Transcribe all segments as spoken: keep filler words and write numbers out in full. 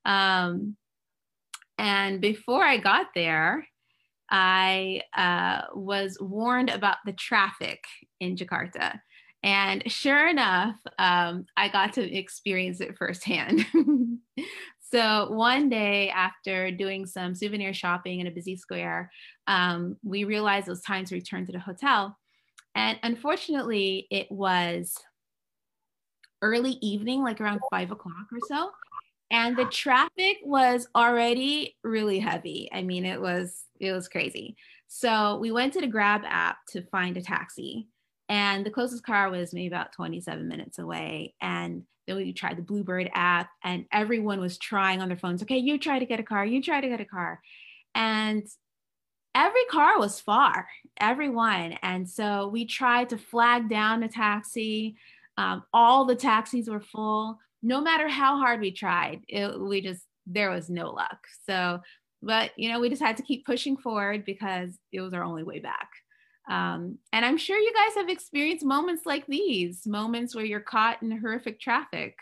Um, and before I got there, I uh, was warned about the traffic in Jakarta. And sure enough, um, I got to experience it firsthand. So one day after doing some souvenir shopping in a busy square, um, we realized it was time to return to the hotel. And unfortunately, it was early evening, like around five o'clock or so. And the traffic was already really heavy. I mean, it was it was crazy. So we went to the Grab app to find a taxi, and the closest car was maybe about twenty-seven minutes away. And then we tried the Bluebird app, and everyone was trying on their phones. Okay, you try to get a car. You try to get a car, and every car was far, everyone. And so we tried to flag down a taxi. Um, all the taxis were full. No matter how hard we tried, it, we just, there was no luck. So, but, you know, we just had to keep pushing forward because it was our only way back. Um, and I'm sure you guys have experienced moments like these, moments where you're caught in horrific traffic.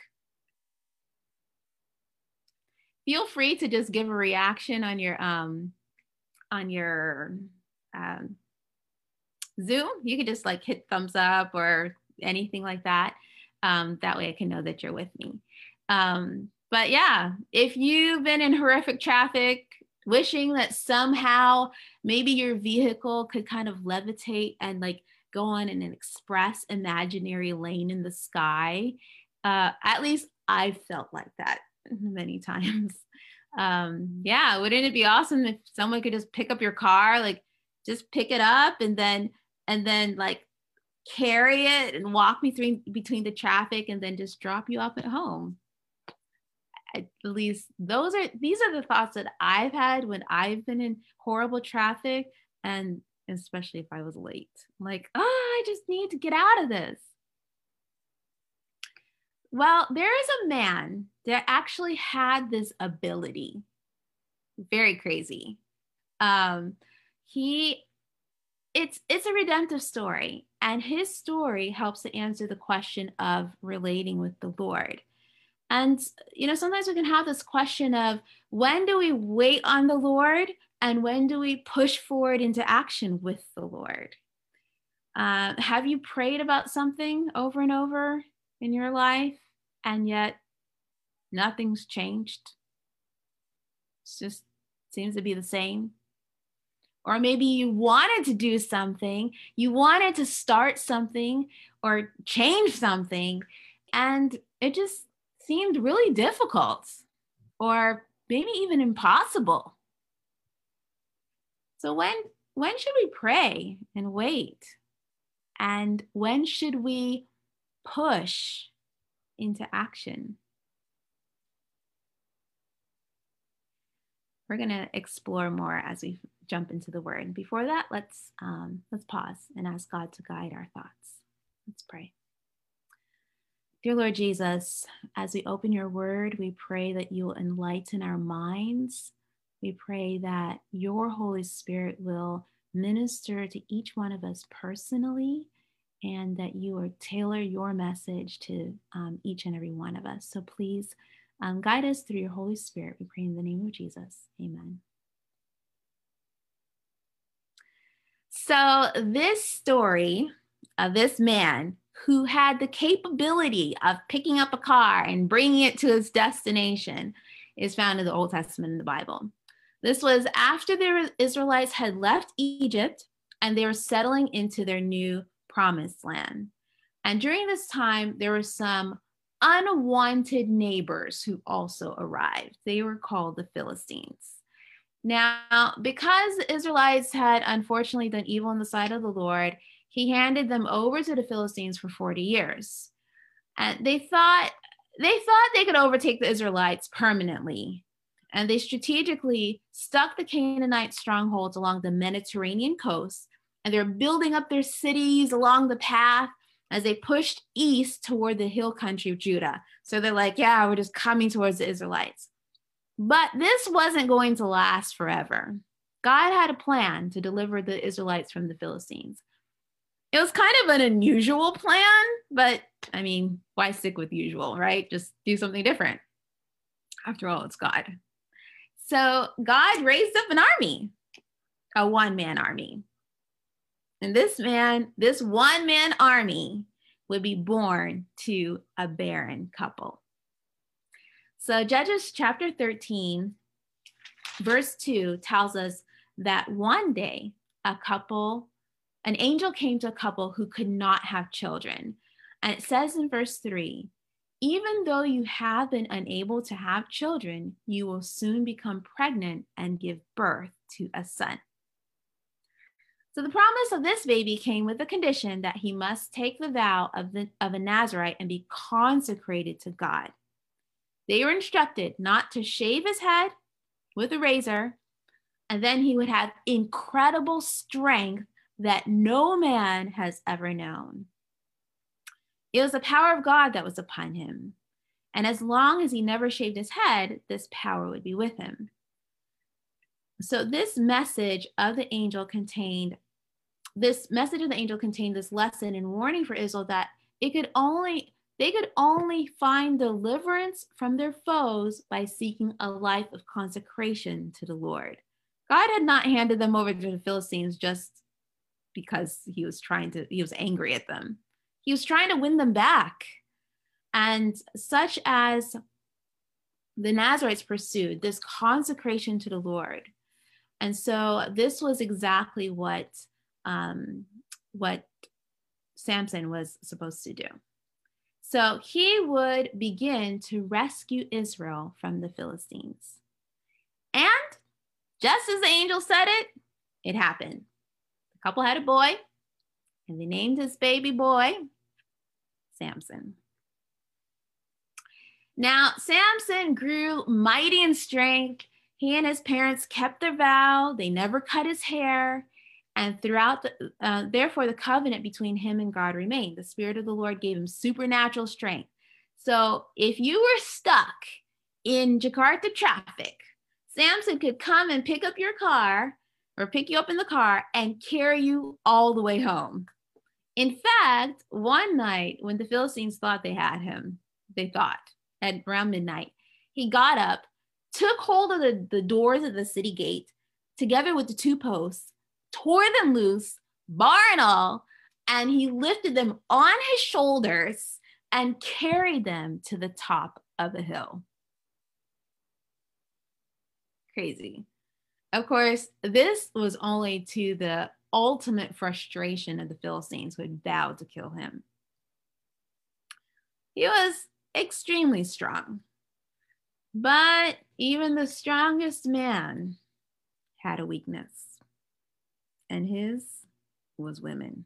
Feel free to just give a reaction on your, um, on your um, Zoom. You could just like hit thumbs up or anything like that. Um, that way I can know that you're with me. Um, but yeah, if you've been in horrific traffic, wishing that somehow maybe your vehicle could kind of levitate and like go on in an express imaginary lane in the sky, uh, at least I've felt like that many times. Um, yeah, wouldn't it be awesome if someone could just pick up your car, like just pick it up and then and then like carry it and walk me through between the traffic and then just drop you off at home? At least those are these are the thoughts that I've had when I've been in horrible traffic, and especially if I was late. Like, oh, I just need to get out of this. Well, there is a man that actually had this ability. Very crazy. Um, he, it's it's a redemptive story, and his story helps to answer the question of relating with the Lord. And you know, sometimes we can have this question of when do we wait on the Lord, and when do we push forward into action with the Lord? Uh, have you prayed about something over and over in your life, and yet nothing's changed? It just seems to be the same. Or maybe you wanted to do something, you wanted to start something or change something, and it just seemed really difficult or maybe even impossible. So when when should we pray and wait? And when should we push into action? We're going to explore more as we jump into the word. Before that, let's um, let's pause and ask God to guide our thoughts. Let's pray. Dear Lord Jesus, as we open your word, we pray that you will enlighten our minds. We pray that your Holy Spirit will minister to each one of us personally, and that you will tailor your message to um, each and every one of us. So please um, guide us through your Holy Spirit. We pray in the name of Jesus. Amen. So this story of this man who had the capability of picking up a car and bringing it to its destination is found in the Old Testament in the Bible. This was after the Israelites had left Egypt and they were settling into their new promised land. And during this time, there were some unwanted neighbors who also arrived. They were called the Philistines. Now, because the Israelites had unfortunately done evil in the sight of the Lord, he handed them over to the Philistines for forty years. And they thought they thought they could overtake the Israelites permanently. And they strategically stuck the Canaanite strongholds along the Mediterranean coast, and they're building up their cities along the path as they pushed east toward the hill country of Judah. So they're like, yeah, we're just coming towards the Israelites. But this wasn't going to last forever. God had a plan to deliver the Israelites from the Philistines. It was kind of an unusual plan, but I mean, why stick with usual, right? Just do something different. After all, it's God. So God raised up an army, a one-man army. And this man, this one-man army would be born to a barren couple. So Judges chapter thirteen, verse two tells us that one day a couple, an angel came to a couple who could not have children. And it says in verse three, even though you have been unable to have children, you will soon become pregnant and give birth to a son. So the promise of this baby came with the condition that he must take the vow of, the, of a Nazarite and be consecrated to God. They were instructed not to shave his head with a razor, and then he would have incredible strength that no man has ever known. It was the power of God that was upon him. And as long as he never shaved his head, this power would be with him. So this message of the angel contained, this message of the angel contained this lesson and warning for Israel that it could only, they could only find deliverance from their foes by seeking a life of consecration to the Lord. God had not handed them over to the Philistines just because he was trying to, he was angry at them. He was trying to win them back. And such as the Nazarites pursued, this consecration to the Lord. And so this was exactly what, um, what Samson was supposed to do. So he would begin to rescue Israel from the Philistines. And just as the angel said it, it happened. The couple had a boy, and they named his baby boy Samson. Now, Samson grew mighty in strength. He and his parents kept their vow. They never cut his hair. And throughout, the, uh, therefore, the covenant between him and God remained. The Spirit of the Lord gave him supernatural strength. So if you were stuck in Jakarta traffic, Samson could come and pick up your car or pick you up in the car and carry you all the way home. In fact, one night when the Philistines thought they had him, they thought at around midnight, he got up, took hold of the, the doors of the city gate together with the two posts, tore them loose, bar and all, and he lifted them on his shoulders and carried them to the top of the hill. Crazy. Of course, this was only to the ultimate frustration of the Philistines who had vowed to kill him. He was extremely strong, but even the strongest man had a weakness, and his was women.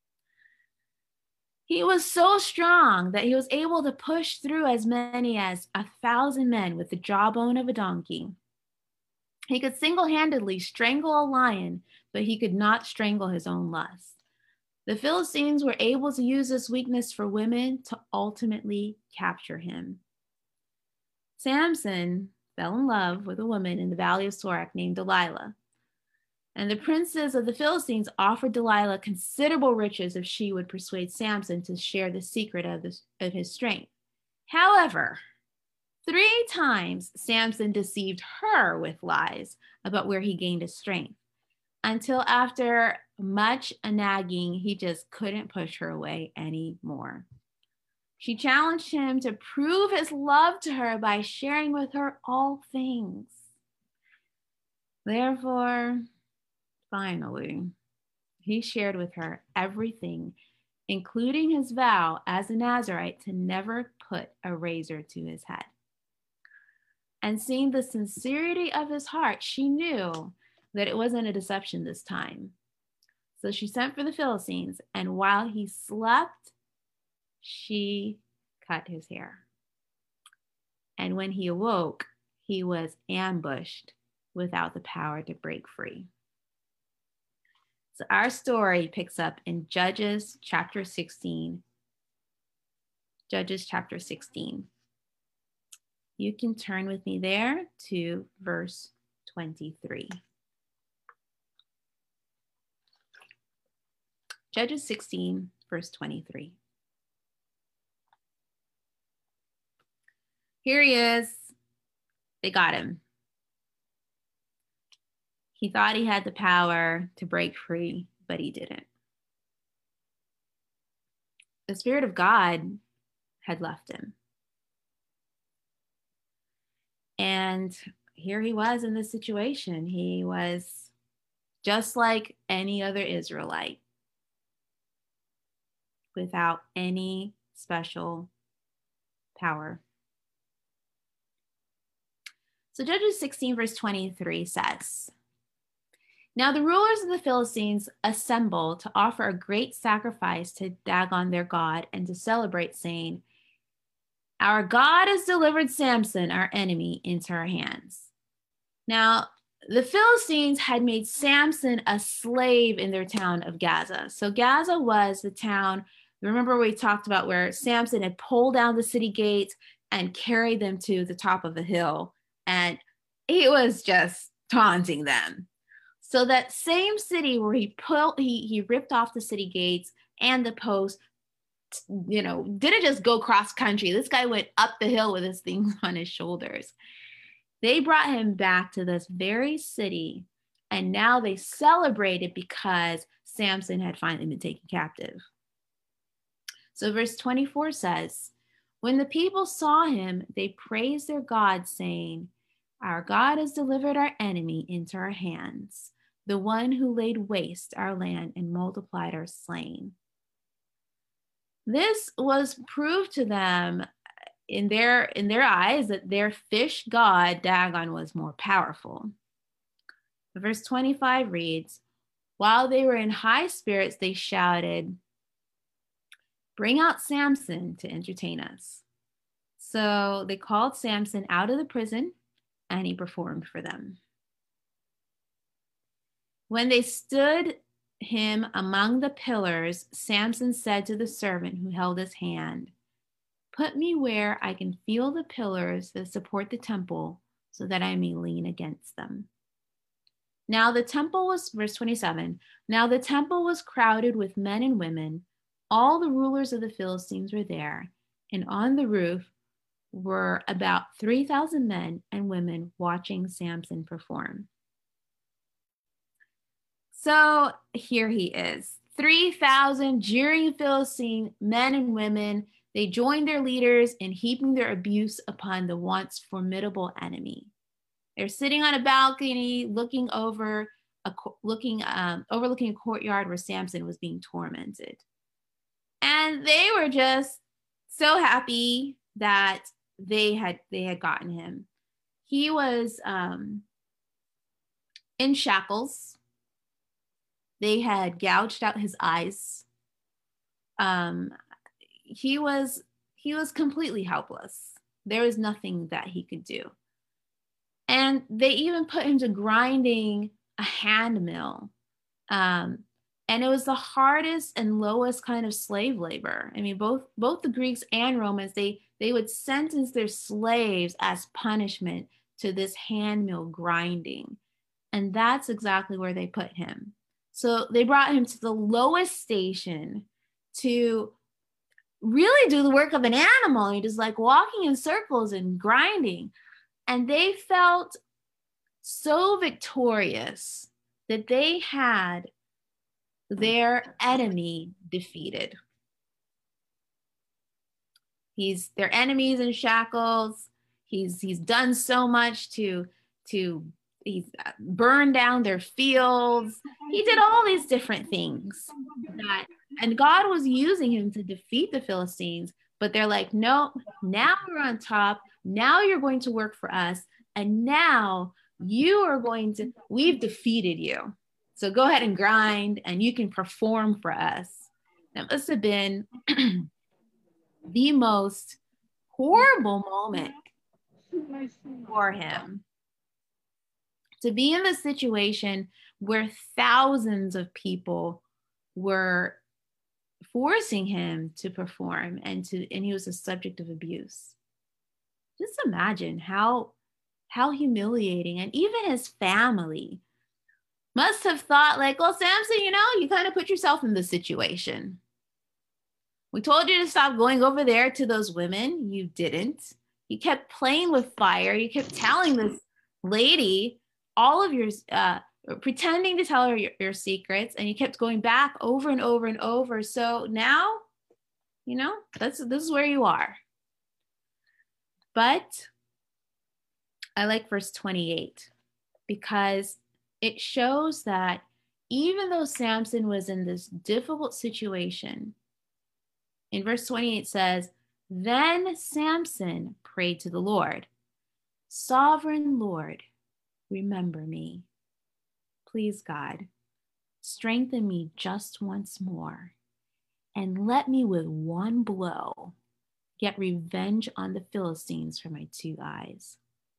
He was so strong that he was able to push through as many as a thousand men with the jawbone of a donkey. He could single-handedly strangle a lion, but he could not strangle his own lust. The Philistines were able to use this weakness for women to ultimately capture him. Samson fell in love with a woman in the valley of Sorek named Delilah. And the princes of the Philistines offered Delilah considerable riches if she would persuade Samson to share the secret of, this, of his strength. However, three times Samson deceived her with lies about where he gained his strength, until after much nagging, he just couldn't push her away anymore. She challenged him to prove his love to her by sharing with her all things. Therefore, finally, he shared with her everything, including his vow as a Nazarite to never put a razor to his head. And seeing the sincerity of his heart, she knew that it wasn't a deception this time. So she sent for the Philistines, and while he slept, she cut his hair. And when he awoke, he was ambushed without the power to break free. So our story picks up in Judges chapter sixteen. Judges chapter sixteen. You can turn with me there to verse twenty-three. Judges sixteen, verse twenty-three. Here he is. They got him. He thought he had the power to break free, but he didn't. The Spirit of God had left him. And here he was in this situation. He was just like any other Israelite, without any special power. So Judges sixteen verse twenty-three says, "Now the rulers of the Philistines assembled to offer a great sacrifice to Dagon their god and to celebrate, saying, 'Our God has delivered Samson, our enemy, into our hands.' Now, the Philistines had made Samson a slave in their town of Gaza. So Gaza was the town, remember we talked about where Samson had pulled down the city gates and carried them to the top of a hill. And he was just taunting them. So that same city where he pulled, he, he ripped off the city gates and the post, you know, didn't just go cross country. This guy went up the hill with his things on his shoulders. They brought him back to this very city, and now they celebrated because Samson had finally been taken captive. So verse twenty-four says, "When the people saw him, they praised their God, saying, 'Our God has delivered our enemy into our hands, the one who laid waste our land and multiplied our slain.'" This was proved to them in their in their eyes that their fish god Dagon was more powerful. Verse twenty-five reads, "While they were in high spirits, they shouted, 'Bring out Samson to entertain us.' So they called Samson out of the prison, and he performed for them. When they stood him among the pillars, Samson said to the servant who held his hand, 'Put me where I can feel the pillars that support the temple, so that I may lean against them.' Now the temple was," verse twenty-seven, "now the temple was crowded with men and women. All the rulers of the Philistines were there, and on the roof were about three thousand men and women watching Samson perform." So here he is, three thousand jeering Philistine men and women. They joined their leaders in heaping their abuse upon the once formidable enemy. They're sitting on a balcony, looking over, a, looking, um, overlooking a courtyard where Samson was being tormented. And they were just so happy that they had they had gotten him. He was um, in shackles. They had gouged out his eyes. Um, he was he was completely helpless. There was nothing that he could do. And they even put him to grinding a hand mill. Um, and it was the hardest and lowest kind of slave labor. I mean, both both the Greeks and Romans, they they would sentence their slaves as punishment to this hand mill grinding. And that's exactly where they put him. So they brought him to the lowest station to really do the work of an animal. He just like walking in circles and grinding. And they felt so victorious that they had their enemy defeated. He's their enemies in shackles. He's he's done so much to to he's burned down their fields. He did all these different things that, and God was using him to defeat the Philistines. But they're like, no, now we're on top. Now you're going to work for us. And now you are going to, we've defeated you. So go ahead and grind and you can perform for us. That must have been the most horrible moment for him. To be in the situation where thousands of people were forcing him to perform and to and he was a subject of abuse. Just imagine how how humiliating. And even his family must have thought like, well, Samson, you know, you kind of put yourself in the situation. We told you to stop going over there to those women. You didn't. You kept playing with fire. You kept telling this lady all of your, uh, pretending to tell her your, your secrets, and you kept going back over and over and over. So now, you know, that's, this is where you are. But I like verse twenty-eight because it shows that even though Samson was in this difficult situation, in verse twenty-eight says, then Samson prayed to the Lord, Sovereign Lord, remember me. Please, God, strengthen me just once more and let me with one blow get revenge on the Philistines for my two eyes.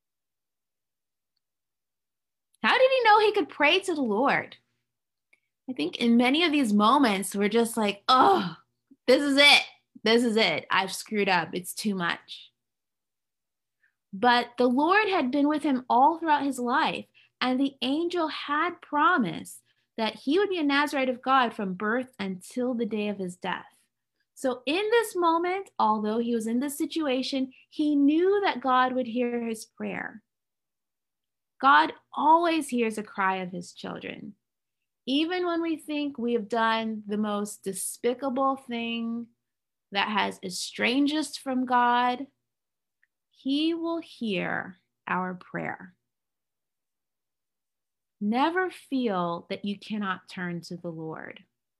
How did he know he could pray to the Lord? I think in many of these moments, we're just like, oh, this is it. This is it. I've screwed up. It's too much. But the Lord had been with him all throughout his life, and the angel had promised that he would be a Nazirite of God from birth until the day of his death. So in this moment, although he was in this situation, he knew that God would hear his prayer. God always hears a cry of his children. Even when we think we have done the most despicable thing that has estranged us from God, he will hear our prayer. Never feel that you cannot turn to the Lord.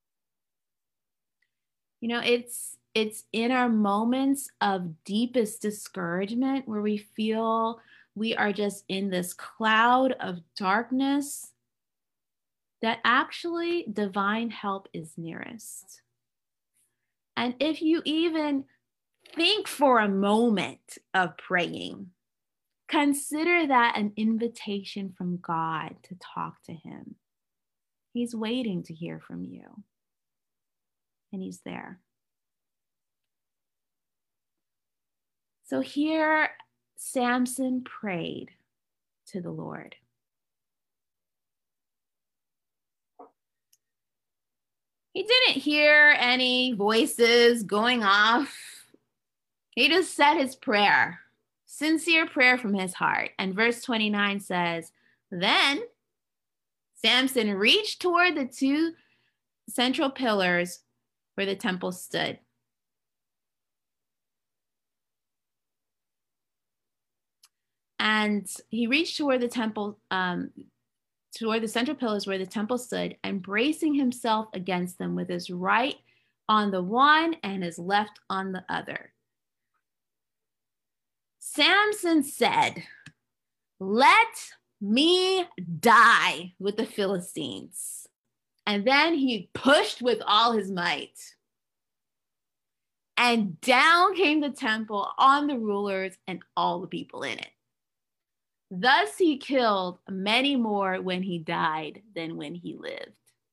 You know, it's it's in our moments of deepest discouragement where we feel we are just in this cloud of darkness that actually divine help is nearest. And if you even think for a moment of praying, consider that an invitation from God to talk to him. He's waiting to hear from you. And he's there. So here, Samson prayed to the Lord. He didn't hear any voices going off. He just said his prayer, sincere prayer from his heart. And verse twenty-nine says, then Samson reached toward the two central pillars where the temple stood. And he reached toward the temple, um, toward the central pillars where the temple stood, and bracing himself against them with his right on the one and his left on the other. Samson said, let me die with the Philistines. And then he pushed with all his might. And down came the temple on the rulers and all the people in it. Thus he killed many more when he died than when he lived.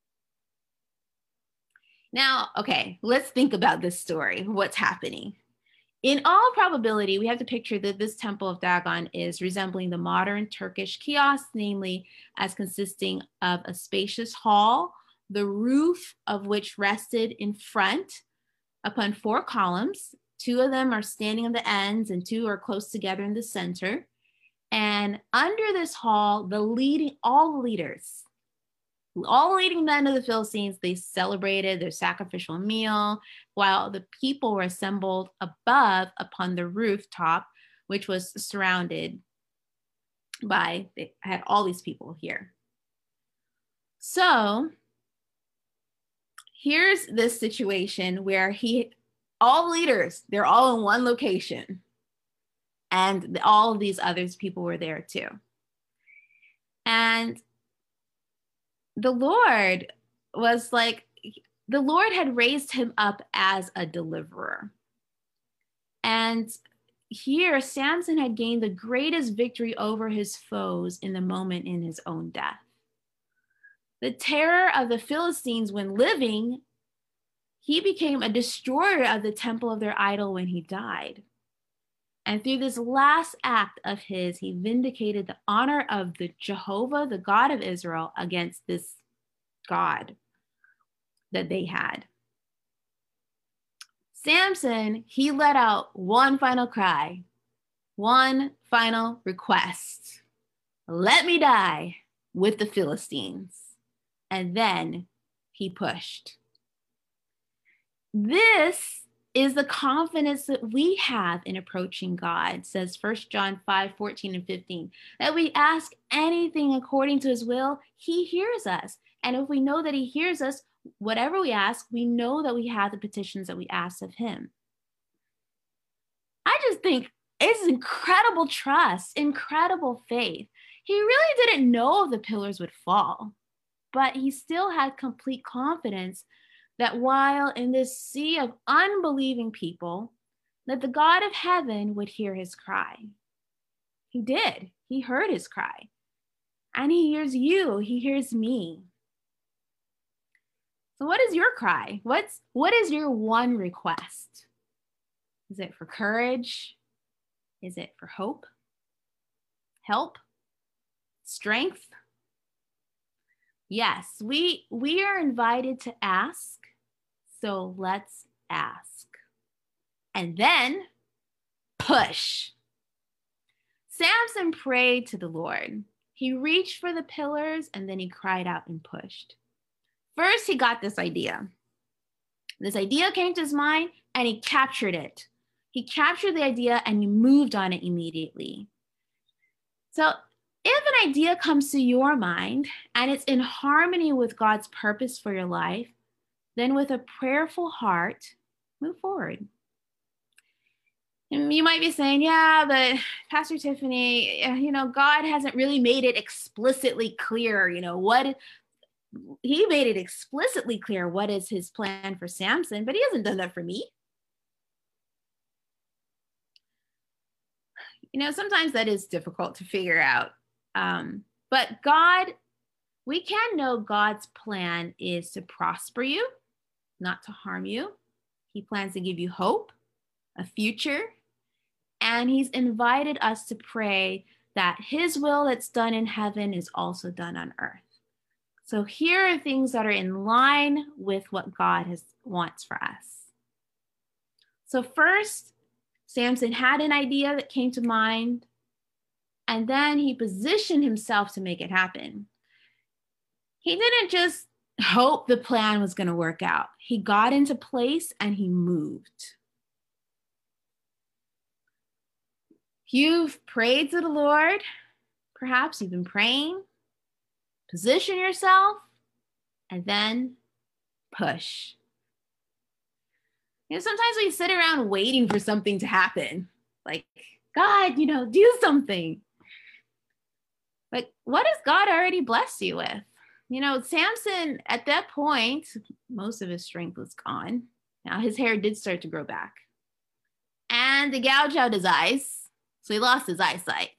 Now, okay, let's think about this story. What's happening? In all probability, we have to picture that this temple of Dagon is resembling the modern Turkish kiosk, namely as consisting of a spacious hall, the roof of which rested in front upon four columns. Two of them are standing on the ends and two are close together in the center. And under this hall, the leading, all the leaders, all the leading men of the Philistines, they celebrated their sacrificial meal while the people were assembled above upon the rooftop, which was surrounded by, they had all these people here. So here's this situation where he, all the leaders, they're all in one location. And all of these other people were there too. And the Lord was like, the Lord had raised him up as a deliverer. And here, Samson had gained the greatest victory over his foes in the moment in his own death. The terror of the Philistines when living, he became a destroyer of the temple of their idol when he died. And through this last act of his, he vindicated the honor of the Jehovah, the God of Israel, against this God that they had. Samson, he let out one final cry. one final request. Let me die with the Philistines. And then he pushed. This is the confidence that we have in approaching God, says First John five, fourteen and fifteen, that we ask anything according to his will, he hears us. And if we know that he hears us, whatever we ask, we know that we have the petitions that we ask of him. I just think it's incredible trust, incredible faith. He really didn't know if the pillars would fall, but he still had complete confidence that while in this sea of unbelieving people, that the God of heaven would hear his cry. He did. He heard his cry. And he hears you. He hears me. So what is your cry? What's, what is your one request? Is it for courage? Is it for hope? Help? Strength? Yes, we, we are invited to ask. So let's ask. And then push. Samson prayed to the Lord. He reached for the pillars and then he cried out and pushed. First, he got this idea. This idea came to his mind and he captured it. He captured the idea and he moved on it immediately. So if an idea comes to your mind and it's in harmony with God's purpose for your life, then with a prayerful heart, move forward. And you might be saying, yeah, but Pastor Tiffany, you know, God hasn't really made it explicitly clear, you know, what he made it explicitly clear what is his plan for Samson, but he hasn't done that for me. You know, sometimes that is difficult to figure out. Um, but God, we can know God's plan is to prosper you, not to harm you. He plans to give you hope, a future, and he's invited us to pray that his will that's done in heaven is also done on earth. So here are things that are in line with what God has wants for us. So first, Samson had an idea that came to mind, and then he positioned himself to make it happen. He didn't just hope the plan was going to work out. He got into place and he moved. You've prayed to the Lord. Perhaps you've been praying. Position yourself and then push. You know, sometimes we sit around waiting for something to happen. Like, God, you know, do something. Like, what has God already blessed you with? You know, Samson, at that point, most of his strength was gone. Now his hair did start to grow back. And they gouged out his eyes, so he lost his eyesight.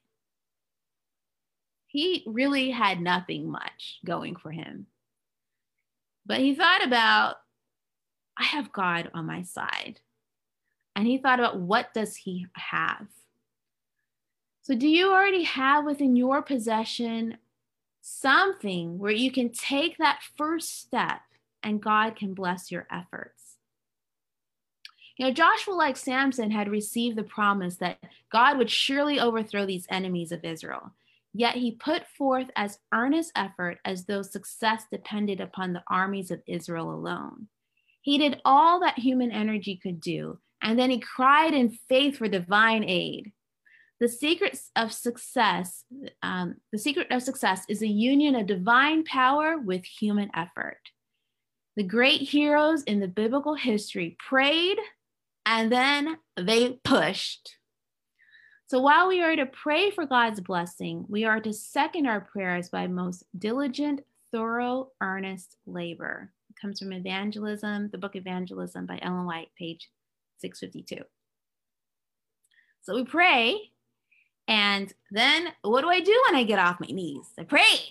He really had nothing much going for him. But he thought about, I have God on my side. And he thought about, what does he have? So do you already have within your possession something where you can take that first step and God can bless your efforts? You know, Joshua, like Samson, had received the promise that God would surely overthrow these enemies of Israel. Yet he put forth as earnest effort as though success depended upon the armies of Israel alone. He did all that human energy could do, and then he cried in faith for divine aid. The secret of success, um, the secret of success is a union of divine power with human effort. The great heroes in the biblical history prayed, and then they pushed. So while we are to pray for God's blessing, we are to second our prayers by most diligent, thorough, earnest labor. It comes from Evangelism, the book Evangelism by Ellen White, page six fifty-two. So we pray, and then what do I do when I get off my knees? I prayed.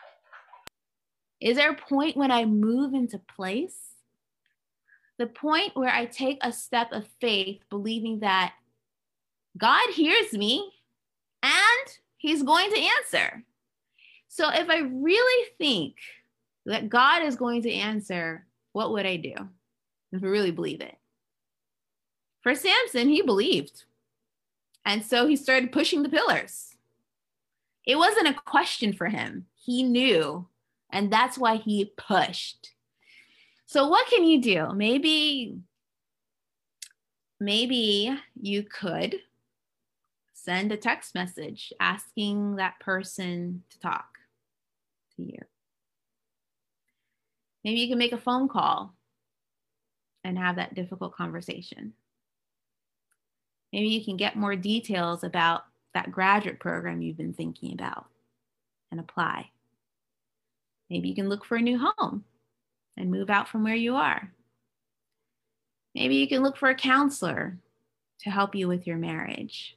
Is there a point when I move into place? The point where I take a step of faith, believing that God hears me and he's going to answer. So if I really think that God is going to answer, what would I do if I really believe it? For Samson, he believed. And so he started pushing the pillars. It wasn't a question for him. He knew, and that's why he pushed. So what can you do? Maybe, maybe you could send a text message asking that person to talk to you. Maybe you can make a phone call and have that difficult conversation. Maybe you can get more details about that graduate program you've been thinking about and apply. Maybe you can look for a new home and move out from where you are. Maybe you can look for a counselor to help you with your marriage.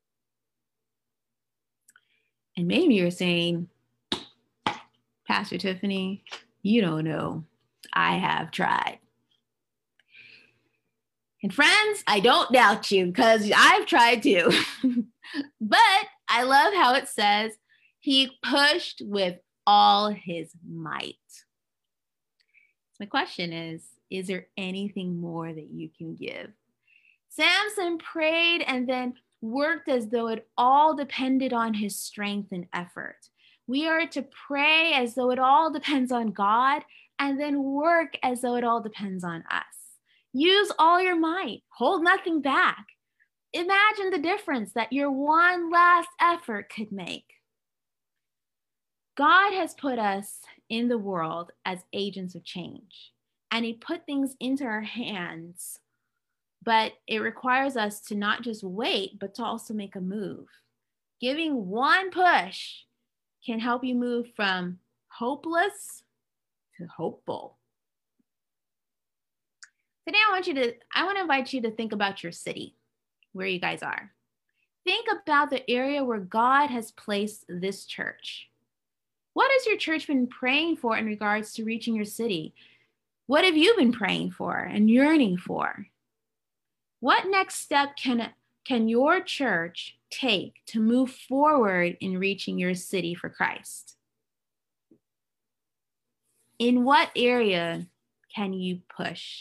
And maybe you're saying, Pastor Tiffany, you don't know. I have tried. And friends, I don't doubt you because I've tried too. But I love how it says he pushed with all his might. So my question is, is there anything more that you can give? Samson prayed and then worked as though it all depended on his strength and effort. We are to pray as though it all depends on God and then work as though it all depends on us. Use all your might. Hold nothing back. Imagine the difference that your one last effort could make. God has put us in the world as agents of change, and he put things into our hands, but it requires us to not just wait, but to also make a move. Giving one push can help you move from hopeless to hopeful. Today, I want you to, I want to invite you to think about your city, where you guys are. Think about the area where God has placed this church. What has your church been praying for in regards to reaching your city? What have you been praying for and yearning for? What next step can, can your church take to move forward in reaching your city for Christ? In what area can you push?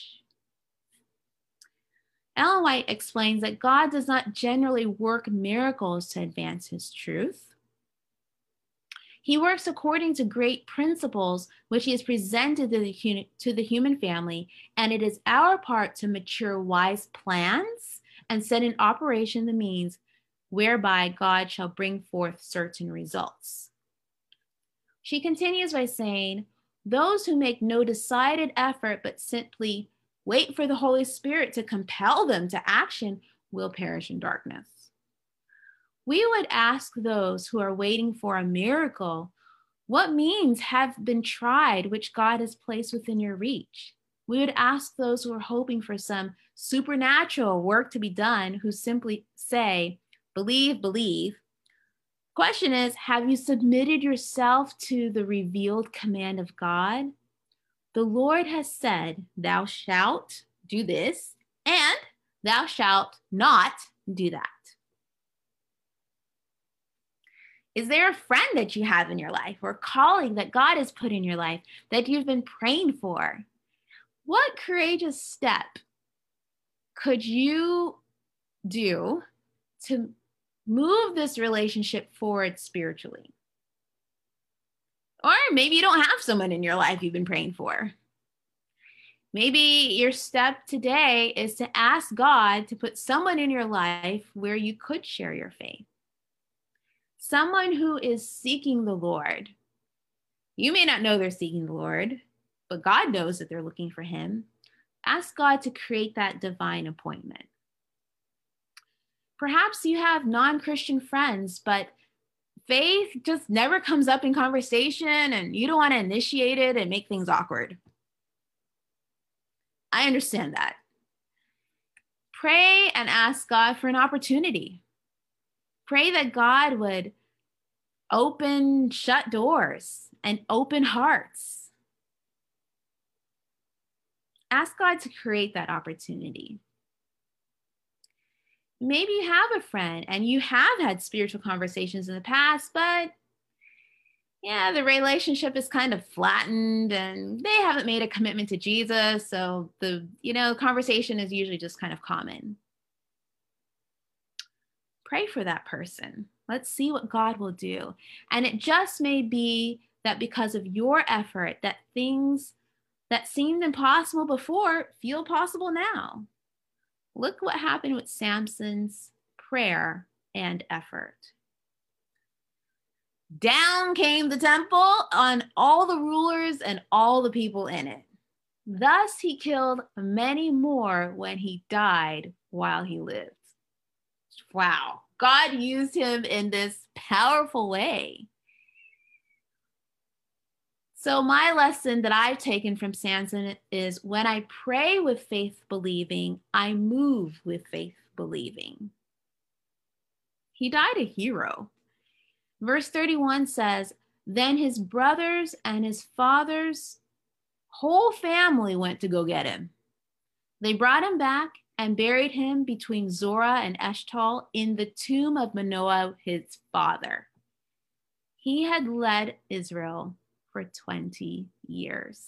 Ellen White explains that God does not generally work miracles to advance his truth. He works according to great principles, which he has presented to the, to the human family, and it is our part to mature wise plans and set in operation the means whereby God shall bring forth certain results. She continues by saying, those who make no decided effort but simply wait for the Holy Spirit to compel them to action will perish in darkness. We would ask those who are waiting for a miracle, what means have been tried which God has placed within your reach? We would ask those who are hoping for some supernatural work to be done, who simply say, believe, believe. Question is, have you submitted yourself to the revealed command of God? The Lord has said, thou shalt do this, and thou shalt not do that. Is there a friend that you have in your life or a colleague that God has put in your life that you've been praying for? What courageous step could you do to move this relationship forward spiritually? Or maybe you don't have someone in your life you've been praying for. Maybe your step today is to ask God to put someone in your life where you could share your faith. Someone who is seeking the Lord. You may not know they're seeking the Lord, but God knows that they're looking for him. Ask God to create that divine appointment. Perhaps you have non-Christian friends, but faith just never comes up in conversation and you don't want to initiate it and make things awkward. I understand that. Pray and ask God for an opportunity. Pray that God would open shut doors and open hearts. Ask God to create that opportunity. Maybe you have a friend and you have had spiritual conversations in the past, but yeah, the relationship is kind of flattened and they haven't made a commitment to Jesus. So the, you know, conversation is usually just kind of common. Pray for that person. Let's see what God will do. And it just may be that because of your effort, that things that seemed impossible before feel possible now. Look what happened with Samson's prayer and effort. Down came the temple on all the rulers and all the people in it. Thus he killed many more when he died while he lived. Wow, God used him in this powerful way. So my lesson that I've taken from Samson is when I pray with faith believing, I move with faith believing. He died a hero. Verse thirty-one says, then his brothers and his father's whole family went to go get him. They brought him back and buried him between Zorah and Eshtaol in the tomb of Manoah, his father. He had led Israel for twenty years.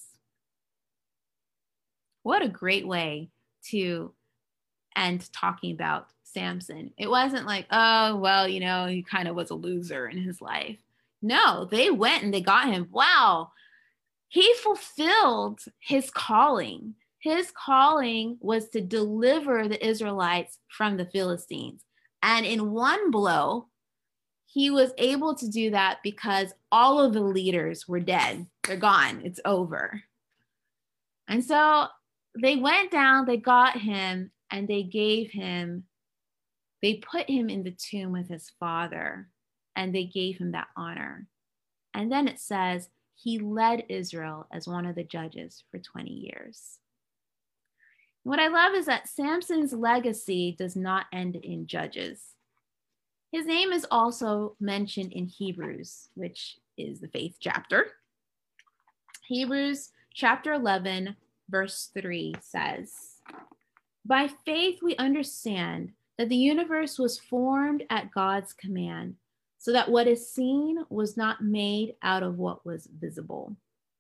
What a great way to end talking about Samson. It wasn't like, oh, well, you know, he kind of was a loser in his life. No, they went and they got him. Wow. He fulfilled his calling. His calling was to deliver the Israelites from the Philistines. And in one blow, he was able to do that because all of the leaders were dead. They're gone. It's over. And so they went down, they got him, and they gave him, they put him in the tomb with his father, and they gave him that honor. And then it says, he led Israel as one of the judges for twenty years. What I love is that Samson's legacy does not end in Judges. His name is also mentioned in Hebrews, which is the faith chapter. Hebrews chapter eleven, verse three says, by faith we understand that the universe was formed at God's command, so that what is seen was not made out of what was visible.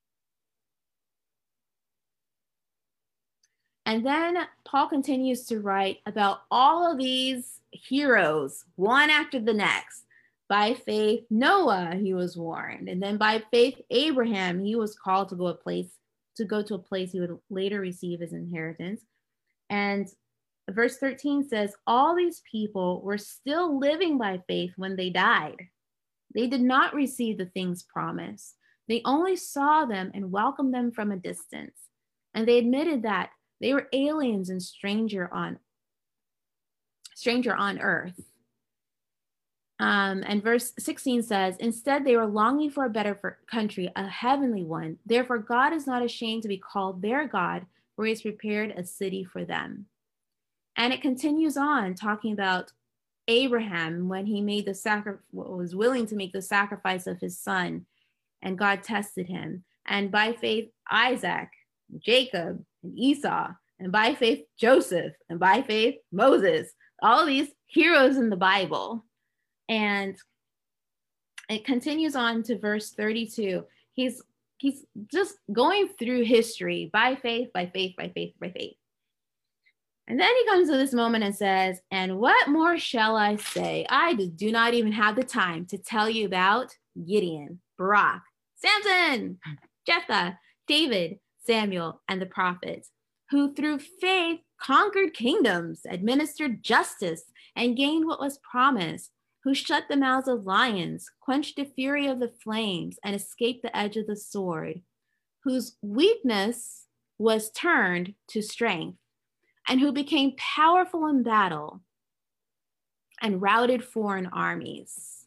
And then Paul continues to write about all of these heroes, one after the next. By faith, Noah, he was warned. And then by faith, Abraham, he was called to go a place, to go to a place he would later receive his inheritance. And verse thirteen says, all these people were still living by faith when they died. They did not receive the things promised. They only saw them and welcomed them from a distance. And they admitted that they were aliens and stranger on, stranger on earth. Um, and verse sixteen says, instead, they were longing for a better for country, a heavenly one. Therefore, God is not ashamed to be called their God, for he has prepared a city for them. And it continues on talking about Abraham when he made the sacri- was willing to make the sacrifice of his son, and God tested him. And by faith, Isaac, Jacob, and Esau, and by faith, Joseph, and by faith, Moses, all these heroes in the Bible. And it continues on to verse thirty-two. He's, he's just going through history by faith, by faith, by faith, by faith. And then he comes to this moment and says, and what more shall I say? I do not even have the time to tell you about Gideon, Barak, Samson, Jephthah, David, Samuel, and the prophets, who through faith conquered kingdoms, administered justice, and gained what was promised, who shut the mouths of lions, quenched the fury of the flames, and escaped the edge of the sword, whose weakness was turned to strength, and who became powerful in battle and routed foreign armies.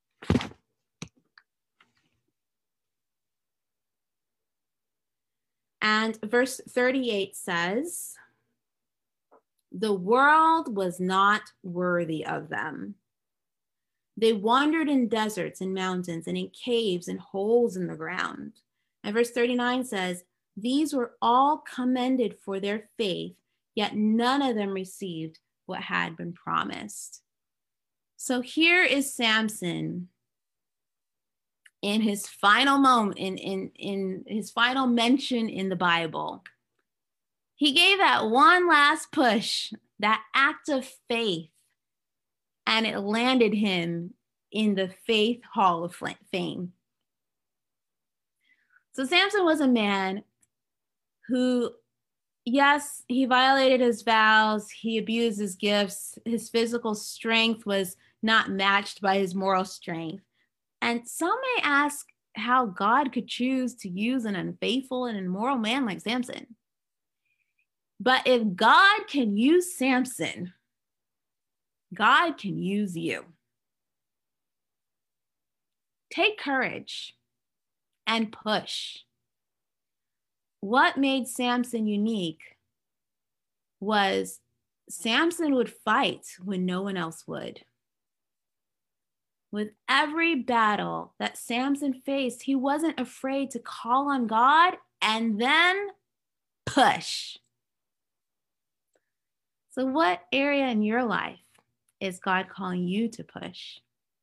And verse thirty-eight says, the world was not worthy of them. They wandered in deserts and mountains and in caves and holes in the ground. And verse thirty-nine says, these were all commended for their faith, yet none of them received what had been promised. So here is Samson in his final moment, in, in, in his final mention in the Bible. He gave that one last push, that act of faith. and it landed him in the Faith Hall of Fame. So Samson was a man who, yes, he violated his vows, he abused his gifts, his physical strength was not matched by his moral strength. And some may ask how God could choose to use an unfaithful and immoral man like Samson. But if God can use Samson, God can use you. Take courage and push. What made Samson unique was Samson would fight when no one else would. With every battle that Samson faced, he wasn't afraid to call on God and then push. So what area in your life is God calling you to push?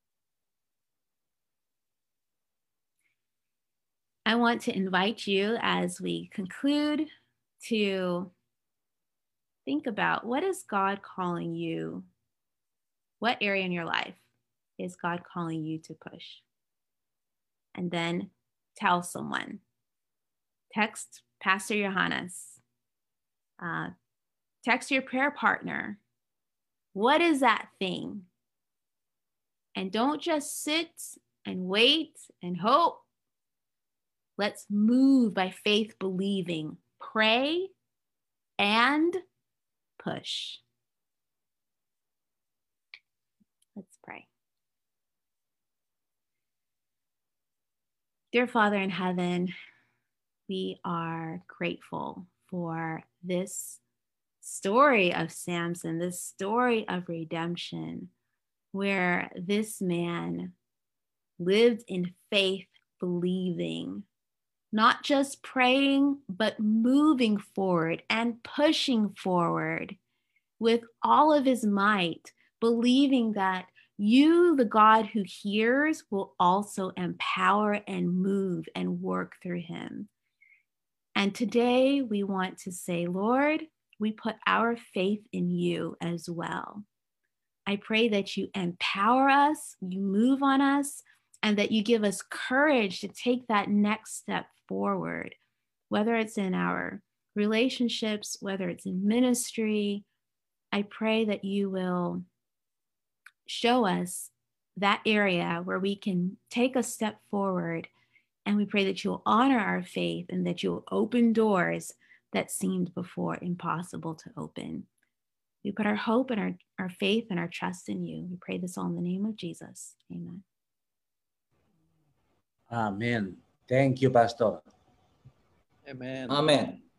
I want to invite you as we conclude to think about, what is God calling you? What area in your life is God calling you to push? And then tell someone. Text Pastor Johannes. Uh, text your prayer partner. What is that thing? And don't just sit and wait and hope. Let's move by faith believing. Pray and push. Let's pray. Dear Father in heaven, we are grateful for this story of Samson, this story of redemption, where this man lived in faith believing, not just praying, but moving forward and pushing forward with all of his might, believing that you, the God who hears, will also empower and move and work through him. And today we want to say, Lord, we put our faith in you as well. I pray that you empower us, you move on us, and that you give us courage to take that next step forward, whether it's in our relationships, whether it's in ministry. I pray that you will show us that area where we can take a step forward, and we pray that you'll honor our faith and that you'll open doors that seemed before impossible to open. We put our hope and our, our faith and our trust in you. We pray this all in the name of Jesus. Amen. Amen. Thank you, Pastor. Amen. Amen.